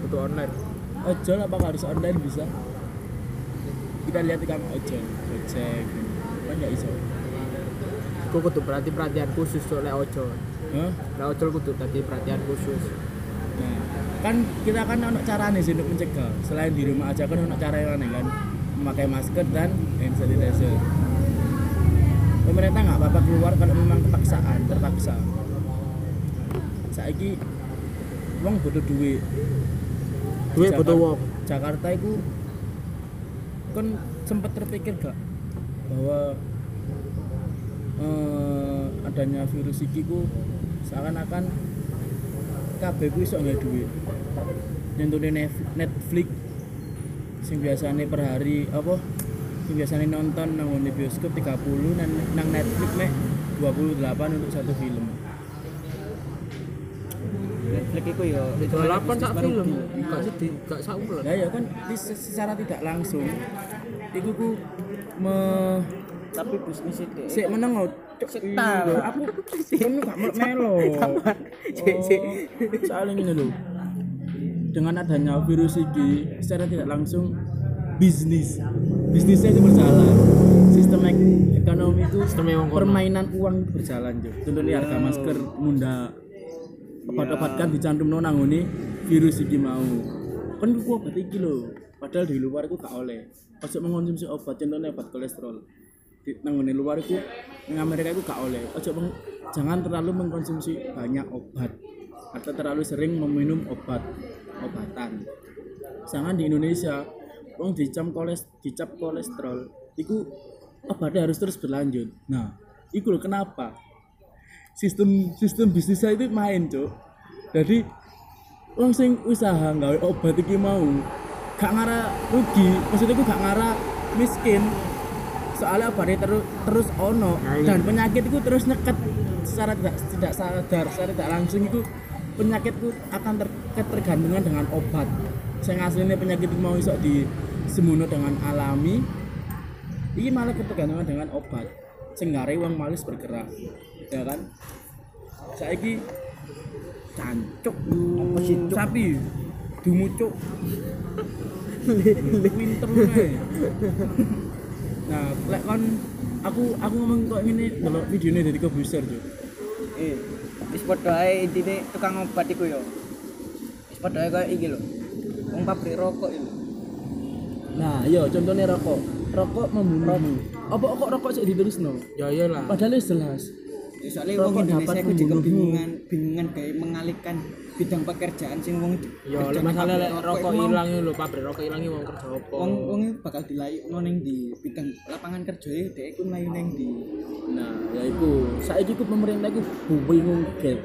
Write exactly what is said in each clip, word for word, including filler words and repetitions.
butuh online. Ojol apa harus online bisa? Kita lihat di kamu ojol, Gojek, kan nggak iso. Aku kudu berarti perhatian khusus tuh lek ojol. Hah? Lek ojol kudu tadi perhatian khusus. Nah, kan kita kan ono carane sih untuk mencegah. Selain di rumah aja kan ono cara yang aneh kan, memakai masker dan hand sanitizer. Pemerintah nggak apa-apa keluar kalau memang kepaksaan, terpaksa. Saiki wong butuh duit. Duit Jakarta- butuh wong. Jakarta itu kan sempat terpikir gak bahwa eh, adanya virus iki ku seakan-akan kabeh ku iso nggak duit. Nyentuhne Netflix sing biasane per hari apa sing biasane nonton nang ngene bioskop tiga puluh nang, nang Netflix mek dua puluh delapan untuk satu film. Netflix iku yo delapan sak film. Gak sedih, gak sak bulan. Nah ya kan di- secara tidak langsung iku ku me tapi bisnis itu sik meneng lho. Setal. Aku kamu gak melo. Sik, sik. Soalnya ngene lho. Dengan adanya virus ini secara tidak langsung bisnis bisnisnya itu berjalan. Sistem ek- ekonomi itu Sistem yang kono. permainan uang itu berjalan jo. Contohnya harga masker munda obat-obat kan dicantumno nang ngene virus iki mau. Kan ku obat iki lho. Padahal di luar itu gak oleh. Ojo mengkonsumsi obat contohnya obat kolesterol. Di nang ngene luar itu nang Amerika itu gak oleh. Ojo meng, jangan terlalu mengkonsumsi banyak obat atau terlalu sering meminum obat obatan. Sedangkan di Indonesia wong dicap koles dicap kolesterol iku obatnya harus terus berlanjut. Nah, iku lho kenapa? Sistem sistem bisnisnya itu main, Cuk. Jadi wong sing usaha gawe obat iki mau gak ngara rugi, maksudnya iku gak ngara miskin. Soalnya obatnya terus terus ono dan penyakit itu terus nyeket secara tidak tidak sadar, secara tidak langsung itu penyakit itu akan ter, ketergantungan dengan obat. Sing asline penyakit itu mau iso disembuhno dengan alami. Iki malah ketergantungan dengan obat. Sing gare wong malis bergerak. Ya kan? Saiki cancuk Apa sih, Cuk? sapi dumucuk winter ae. Nah, lek kon aku aku ngomong kok ngene delok videone dari Kobuser, Cuk. eh wis padha ae intine tukang obat iku yo wis padha ae koyo iki lho wong pabrik rokok iki. Nah, iya contohnya rokok. Rokok membunuhmu. Apa kok rokok sik diterusno? Ya iyalah. Padahal wis jelas. Ya, soalnya wong Rokok Indonesia dapat iku juga membunuhmu. bingungan bingungan gawe mengalihkan bidang pekerjaan sing wong Ya lek masalah lek rokok ilang lho, pabrik rokok ilang wong kerja apa? wong wong iki bakal dilayukno ning di bidang lapangan kerja e dhek iku mlayu ning di Nah, ya iku. Saiki ku pemerintah iku bingung get.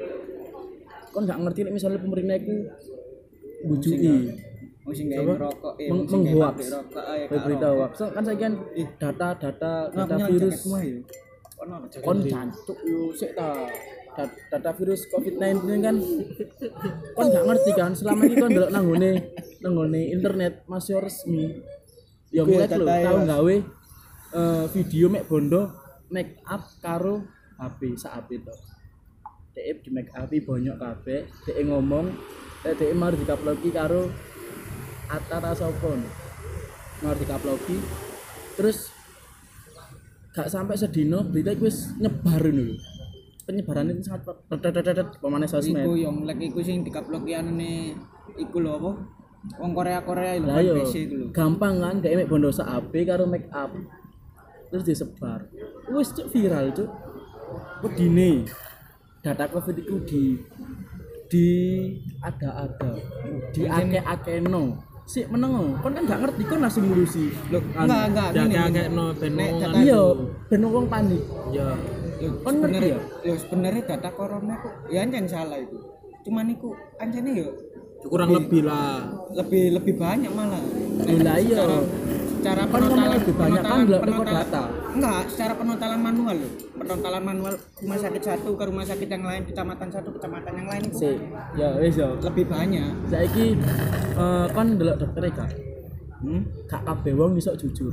Kon gak ngerti nek misalnya pemerintah iku bujuki wong sing gawe Coba rokok eh meng- wong sing gawe menghoax. pabrik rokok ae berita hoax. So, kan saiki kan data-data data virus ono kon jantuk yo sik ta. Dat- Data virus covid sembilan belas kan kon gak ngerti kan selama ini kon ndelok nang ngone nang ngone internet masih resmi. Ya Iku ya ngeliat lho data tau ya. gawe eh, video mek bondo make up karo H P sak H P to. Dek di make up bonyok kabeh, dek ngomong, dek dek mari dikaploki karo Atara Sopon. Mari dikaploki terus gak sampai sedino berita iku wis nyebar lho. Penyebaran itu sangat tetetetet pemane sosmed. iku yang lek iku sing dikaploki anune iku lho apa wong Korea-Korea lho Lah yo P C iku lho gampang kan dek mek bondo sak H P karo make up. Terus disebar. Wis cuk viral cuk. Wedine data covid iku di di ada-ada di ake-akeno sik meneng lho. Kon kan gak ngerti kon langsung ngurusi lho enggak enggak Ya gini, gini. kayak no ben Nek wong data- kan. iya ben wong panik. Ya Lho, Kon ngerti sebenarnya ya? lho sebenarnya data corona kok ya ancen salah itu cuman iku ancene yo kurang lebih lah. lebih lebih banyak malah Lah iya. secara Kan ngomong penontalan lebih banyak kan ndelok teko penontalan- data. enggak secara penontalan manual loh penontalan manual rumah sakit satu ke rumah sakit yang lain kecamatan satu kecamatan yang lain itu Sik. Ya wis yo. lebih banyak Saiki eh kon ndelok dokter e gak? hmm? Gak kabeh wong iso jujur.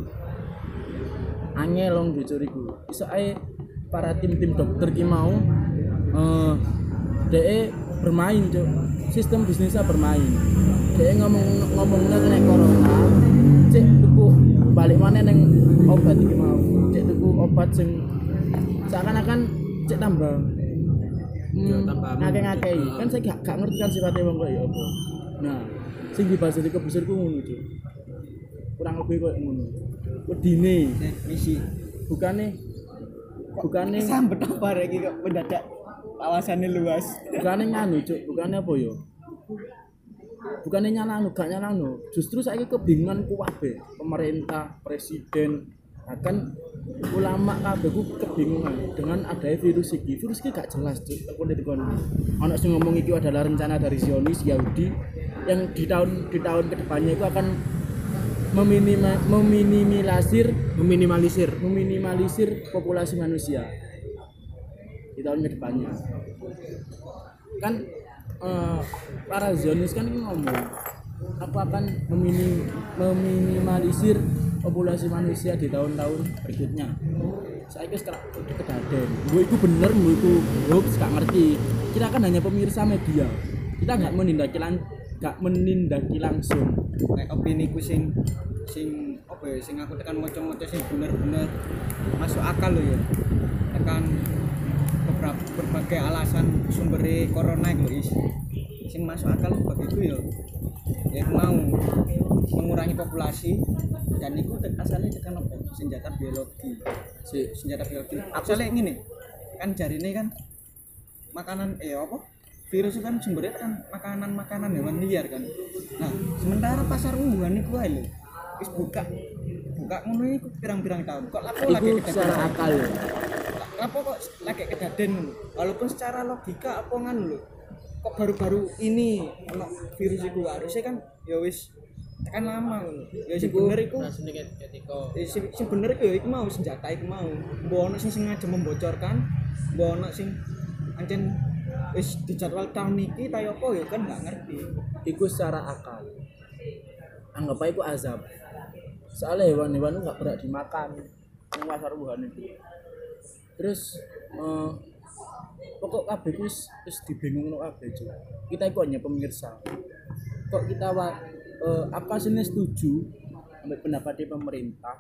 Angel wong jujur iku. Iso ae para tim-tim dokter ki mau eh dhek bermain, Cuk. Sistem bisnisnya bermain. dia ngomong ngomongnya kena corona cek tuku balik mana neng obat iki mau cek tuku obat sing seakan-akan cek tambah hmm, ngake-ngakei kan saya gak, gak ngerti kan sifatnya wong kok ya apa nah sing dibahas di kebusirku ngono Cuk kurang lebih koyo ngono wedine misi bukane bukane sambet apa iki kok mendadak kawasannya luas bukane nganu Cuk bukane apa ya bukannya nyalano, gak nyalano justru saya kebingungan kuwabe pemerintah, presiden bahkan ulama kabeh ku kebingungan dengan adanya virus ini virus ini gak jelas Cuk aku dikon ana sing ngomong iki adalah rencana dari Zionis Yahudi yang di tahun di tahun kedepannya itu akan meminima, meminimalisir meminimalisir meminimalisir populasi manusia di tahun kedepannya kan Uh, para Zionis kan ngomong aku akan meminim, meminimalisir populasi manusia di tahun-tahun berikutnya. Saya kira sekarang kedaden. Gue itu bener, gue itu hoax, gak ngerti. Kita kan hanya pemirsa media. Kita nggak menindaki lang, nggak menindaki langsung. Kayak opini ku sing sing apa ya? Sing aku tekan moco-moco sing bener-bener masuk akal loh ya. Tekan beberapa berbagai alasan sumber corona itu is sing masuk akal begitu ya ya mau mengurangi populasi dan itu asalnya tekan apa senjata biologi si senjata biologi asalnya gini kan jari ini kan makanan eh apa virus itu kan sumbernya kan makanan-makanan hewan liar kan nah sementara pasar Wuhan itu ae lho wis buka buka ngono iku pirang-pirang tahun kok lapo lagi secara akal ya apa kok lagi kedaden walaupun secara logika apa ngan lho kok baru-baru ini ono virus iku harusnya kan ya wis tekan lama ngono ya sing bener iku sing sing bener iku ya iku mau senjata iku mau mbok ono sing sengaja membocorkan mbok ono sing ancen wis dijadwal tahun iki ta apa ya kan enggak ngerti iku secara akal anggap aja iku azab soalnya hewan-hewan itu gak berhak dimakan di pasar Wuhan itu terus uh, pokok kabeh wis wis dibingungno kabeh Cuk. Kita itu hanya pemirsa. Kok kita wa, uh, apa sih setuju ambil pendapat pemerintah?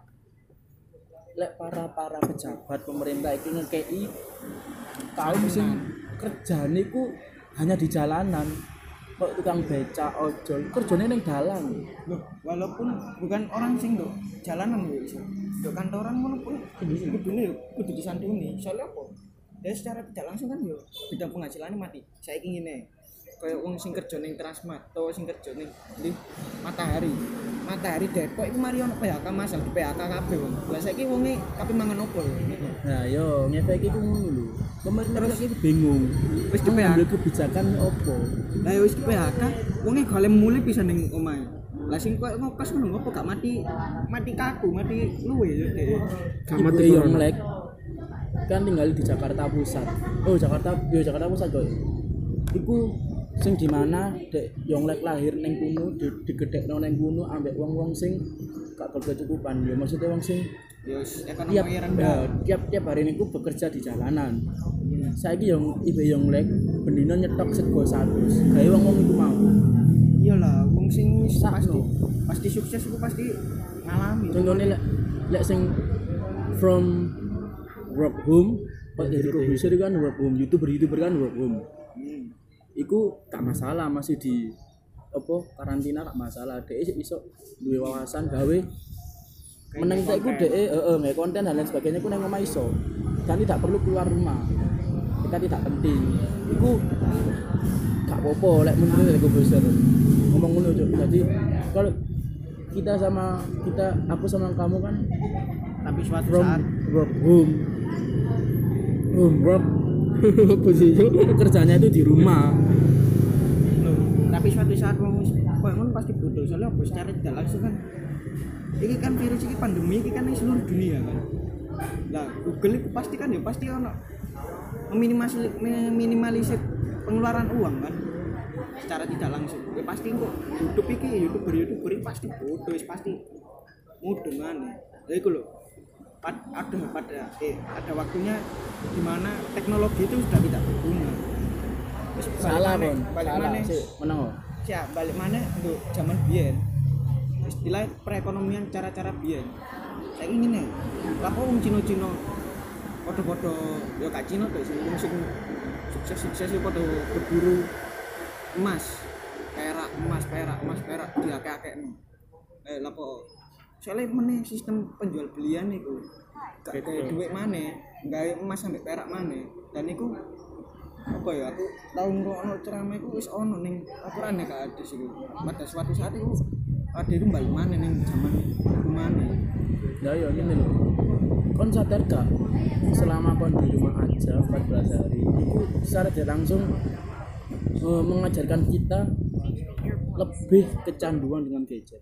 Lek para-para pejabat pemerintah itu ngekei kaum sing kerjane iku hanya di jalanan. Kok tukang beca ojol kerjane ning dalan. Loh, walaupun bukan orang sing nduk jalanan lho iso. Nduk kantoran ngono pun kudune kudu disantuni. Soalnya apa? Ya secara tidak langsung kan yo bidang penghasilannya mati. Saiki ngene. Kayak wong sing kerja ning Transmart atau sing kerja ning di Matahari. Matahari Depok iku mari ono P H K masal di P H K kabeh wong. Lah saiki wonge kabeh mangan opo lho. Nah, yo ngefek iku ngono lho. Pemerintah iki bingung. Wis di P H K kebijakan opo? Lah wis di P H K wonge golek mulih pisan ning omahe. Lah sing koyo ngokos ngono ngopo gak mati mati kaku, mati luwe yo dhek. Gak mati yo melek. Kan tinggal di Jakarta Pusat. Oh, Jakarta, yo Jakarta Pusat kok. Iku sing di mana dek Yonglek lahir ning kuno di, digedhekno ning kuno ambek wong-wong sing gak berkecukupan. Ya maksudnya wong sing ya ekonomi rendah. Tiap-tiap hari niku bekerja di jalanan. Hmm. Saiki yo ibe Yonglek bendino nyetok sego seratus. Gawe wong-wong iku mau. Iyalah, wong sing wis pasti pasti sukses iku pasti ngalami. Contohnya lek lek sing from work home, Pak dari produser kan work home, YouTuber-YouTuber kan work home. Hmm. Iku gak masalah masih di apa karantina gak masalah. Dhek iso duwe wawasan gawe meneng tek iku dhek heeh nggak konten dan lain sebagainya ku nang omah iso. Dan tidak perlu keluar rumah. Kita tidak penting. Iku gak apa-apa lek menurut dari produser. Ngomong ngono Cuk. Jadi kalau kita sama kita aku sama kamu kan tapi suatu from saat work home home work kerjanya itu di rumah. Loh, tapi suatu saat wong koyo ngono pasti butuh soalnya apa secara tidak langsung kan iki kan virus iki pandemi iki kan di seluruh dunia kan. Lah Google itu pasti kan ya pasti ono meminimalisir meminimalisir pengeluaran uang kan secara tidak langsung. Ya pasti kok YouTube iki YouTuber-YouTuber iki pasti butuh pasti mudeng aneh. Lha iku lho ada pada eh ada waktunya di mana teknologi itu sudah tidak berguna. Terus salah pun, salah sih, menang. siap balik mana untuk zaman biyen istilah perekonomian cara-cara biyen saya ingin nih lapo wong Cina-Cina podo-podo ya gak Cina tuh sing wong sing sukses-sukses itu podo berburu emas perak emas perak emas perak diakeh-akehno eh lapo soalnya meneh sistem penjual belian iku gak kayak duit maneh gawe emas sampai perak maneh dan iku apa ya aku tau ngrungokno ceramah iku wis ono ning aturane gak ada sih pada suatu saat iku ada itu balik maneh ning zaman iku maneh ya ya ngene lho kon sadar gak selama kon di rumah aja empat belas hari itu secara tidak langsung uh, mengajarkan kita lebih kecanduan dengan gadget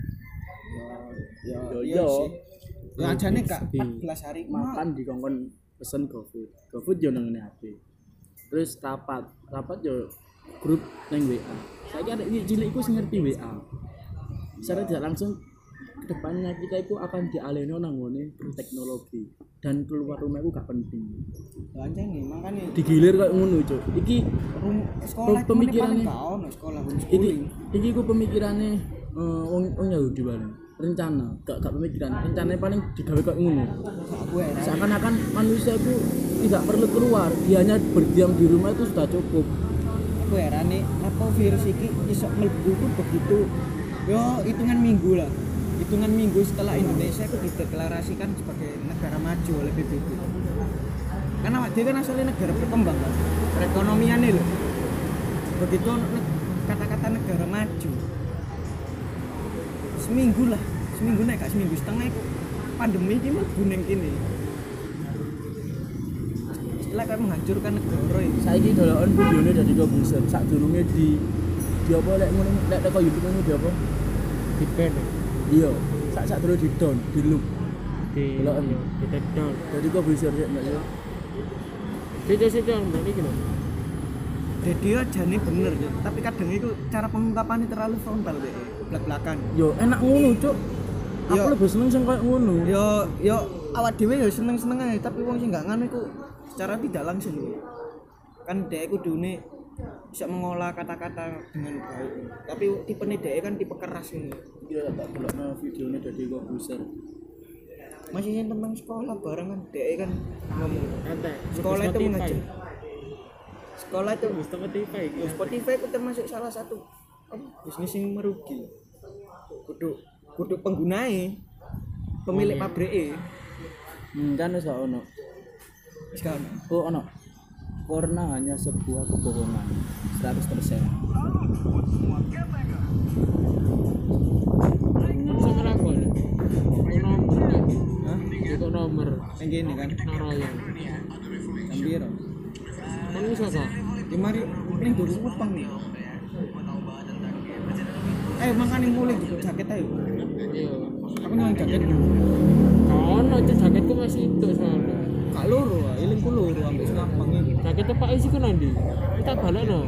ya ya sih ya ajane gak empat belas hari makan di kongkon pesen GoFood GoFood yo nang H P terus rapat rapat yo grup nang W A saiki ada cilik iku sing ngerti W A secara tidak langsung kedepannya kita itu akan dialihno nang ngene teknologi dan keluar rumah itu gak penting ya anjane makane digilir kok ngono cuk iki sekolah pemikirannya gak ono sekolah iki iki ku pemikirannya uh, wong wong Yahudi bareng rencana gak gak pemikiran rencananya paling digawe kok ngono seakan-akan manusia itu tidak perlu keluar dia hanya berdiam di rumah itu sudah cukup aku heran nih apa virus ini iso mlebu ku begitu yo hitungan minggu lah hitungan minggu setelah Indonesia itu dideklarasikan sebagai negara maju oleh P B B karena dia kan asalnya negara berkembang kan perekonomian loh begitu kata-kata negara maju seminggu lah seminggu naik gak seminggu setengah itu pandemi ini mlebu ning kene istilah kan menghancurkan negara ini saiki dolokan videone dari komputer sak durunge di di apa lek ngono lek teko YouTube ngono di apa di band iya sak sak terus di down di loop di dolokan di take down dari komputer sik enggak ya situ-situ yang mbak iki lho jadi aja nih bener ya tapi kadang itu cara pengungkapannya terlalu frontal deh belak-belakan yo enak ngono cuk aku Yo. lebih seneng sing koyo ngono yo yo awak dhewe yo seneng-seneng ae tapi wong sing gak ngono iku secara tidak langsung kan dhek kudune bisa mengolah kata-kata dengan baik tapi tipene dhek kan tipe keras ini kira tak delokno videone dari komputer masih yang tentang sekolah bareng kan dhek kan ngomong ente sekolah itu mengajar sekolah itu Spotify ya, Spotify itu termasuk salah satu oh, bisnis yang merugi kudu kudu penggunanya pemilik Oh, iya. pabrik e hmm, kan wis ono sekarang oh ono corona hanya sebuah kebohongan seratus persen sama aku ya nomor hah itu nomor yang gini kan naroyan Gambiro kan bisa kok ya mari ini dulu upang nih eh makan yang mulai juga jaket ayo iya aku nyuang jaket dulu kono itu jaketku masih itu soalnya kak loro ah ilingku loro ambil selampang ini jaketnya pak isi kan nanti kita balik no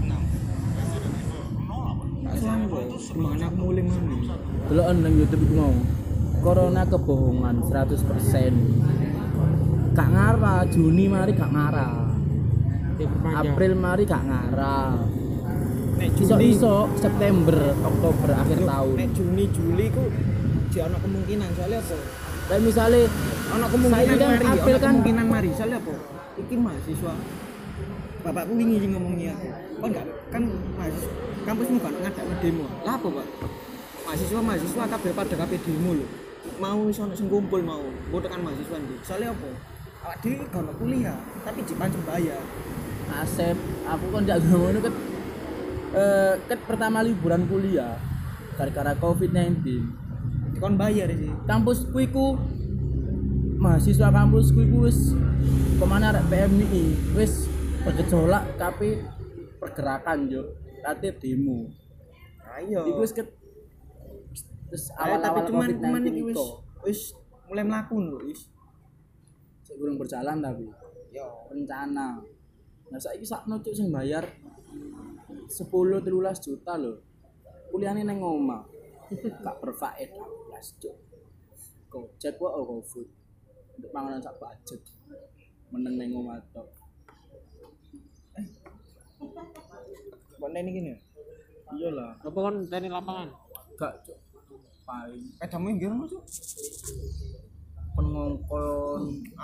kak selampang gimana aku mulai mandi delokan nang YouTube iku mau corona kebohongan seratus persen gak ngarah Juni mari gak ngarah diperpanjang April mari gak ngarah nek iso Juli iso September Oktober akhir tahun nek Juni Juli ku di ana kemungkinan soalnya apa dan misalnya ana kemungkinan Saiki kan mari April ana kan- kemungkinan mari soalnya apa iki mahasiswa bapakku wingi sing ngomongnya aku kan enggak kan mahasiswa kampusmu kan ngadakno demo lah apa Pak mahasiswa mahasiswa kabeh pada kabeh demo lho mau iso ono sing kumpul mau mbok tekan mahasiswa iki soalnya apa awak dhewe gak ono kuliah tapi dipancung bayar Asep aku kan gak ngono ket eh ket pertama liburan kuliah gara-gara covid sembilan belas kon bayar sih kampusku iku mahasiswa kampusku iku wis kemana arek P M I wis bergejolak tapi pergerakan yo kate demo ayo iku wis ket terus Ayo, tapi awal-awal cuman covid cuman sembilan belas iki wis itu wis mulai mlaku lho wis sik kurang berjalan tapi yo rencana nah saiki sakno cuk sing bayar sepuluh telulas juta lho kuliahane nang omah gak berfaedah blas cuk Gojek wae oh GoFood untuk panganan sak budget meneng nang omah tok konten iki ne iyalah Apa kon teni lapangan? gak Cuk. paling Pedamu nggih Mas. pengongkon